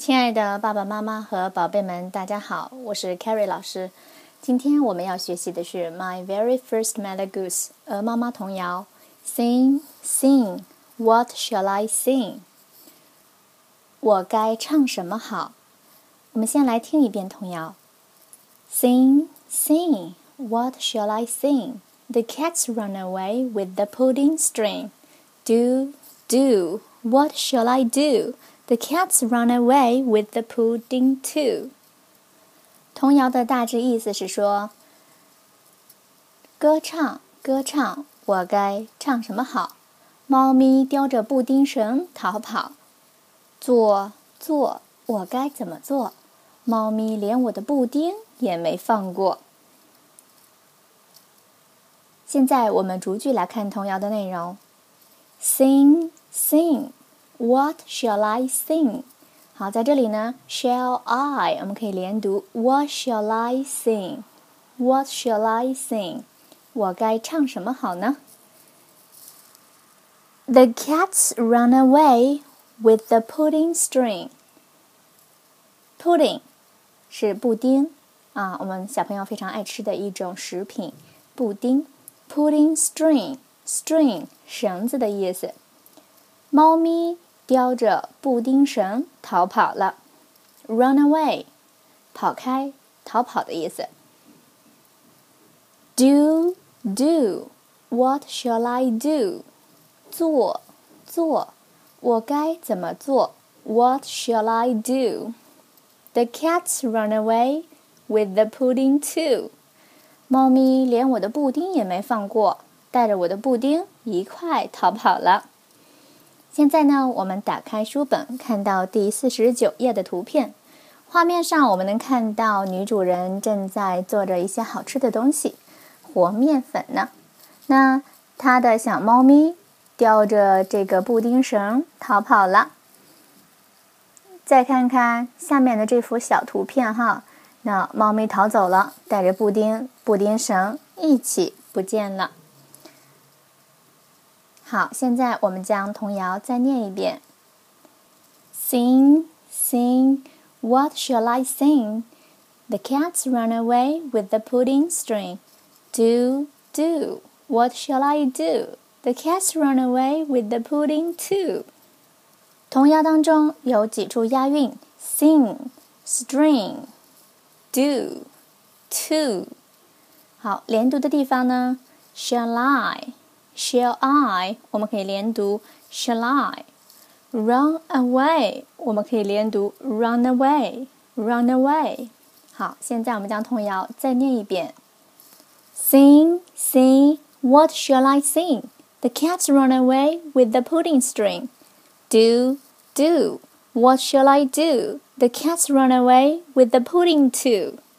亲爱的爸爸妈妈和宝贝们，大家好，我是 Carrie 老师。今天我们要学习的是 My Very First Mother Goose 鹅妈妈童谣 Sing, sing, what shall I sing? 我该唱什么好？我们先来听一遍童谣 Sing, sing, what shall I sing? The cats run away with the pudding string. Do, do, what shall I do?The cats run away with the pudding too. 童谣的大致意思是说，歌唱，歌唱，我该唱什么好？猫咪叼着布丁绳逃跑。做，做，我该怎么做？猫咪连我的布丁也没放过。现在我们逐句来看童谣的内容。Sing, sing.What shall I sing? 好，在这里呢 shall I 我们可以连读 What shall I sing? What shall I sing? 我该唱什么好呢？ The cats run away with the pudding string. Pudding 是布丁啊，我们小朋友非常爱吃的一种食品，布丁。Pudding string, string 绳子的意思。猫咪叼着布丁绳逃跑了 Run away 跑开逃跑的意思 Do, do, what shall I do? 做，做，我该怎么做 What shall I do? The cats run away with the pudding too. 猫咪连我的布丁也没放过，带着我的布丁一块逃跑了。现在呢，我们打开书本，看到第49页的图片。画面上我们能看到女主人正在做着一些好吃的东西，和面粉呢。那她的小猫咪叼着这个布丁绳逃跑了。再看看下面的这幅小图片哈，那猫咪逃走了，带着布丁绳一起不见了。好，现在我们将童谣再念一遍。Sing, sing, what shall I sing? The cats run away with the pudding string. Do, do, what shall I do? The cats run away with the pudding too. 童谣当中有几处押韵 Sing, string, do, to. 好，连读的地方呢 Shall I?Shall I 我们可以连读 Shall I Run away 我们可以连读 Run away Run away 好，现在我们将童谣再念一遍 Sing, sing, what shall I sing? The cats run away with the pudding string. Do, do, what shall I do? The cats run away with the pudding too.